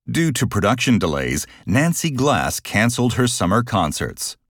Due to production delays, Nancy Glass canceled her summer concerts.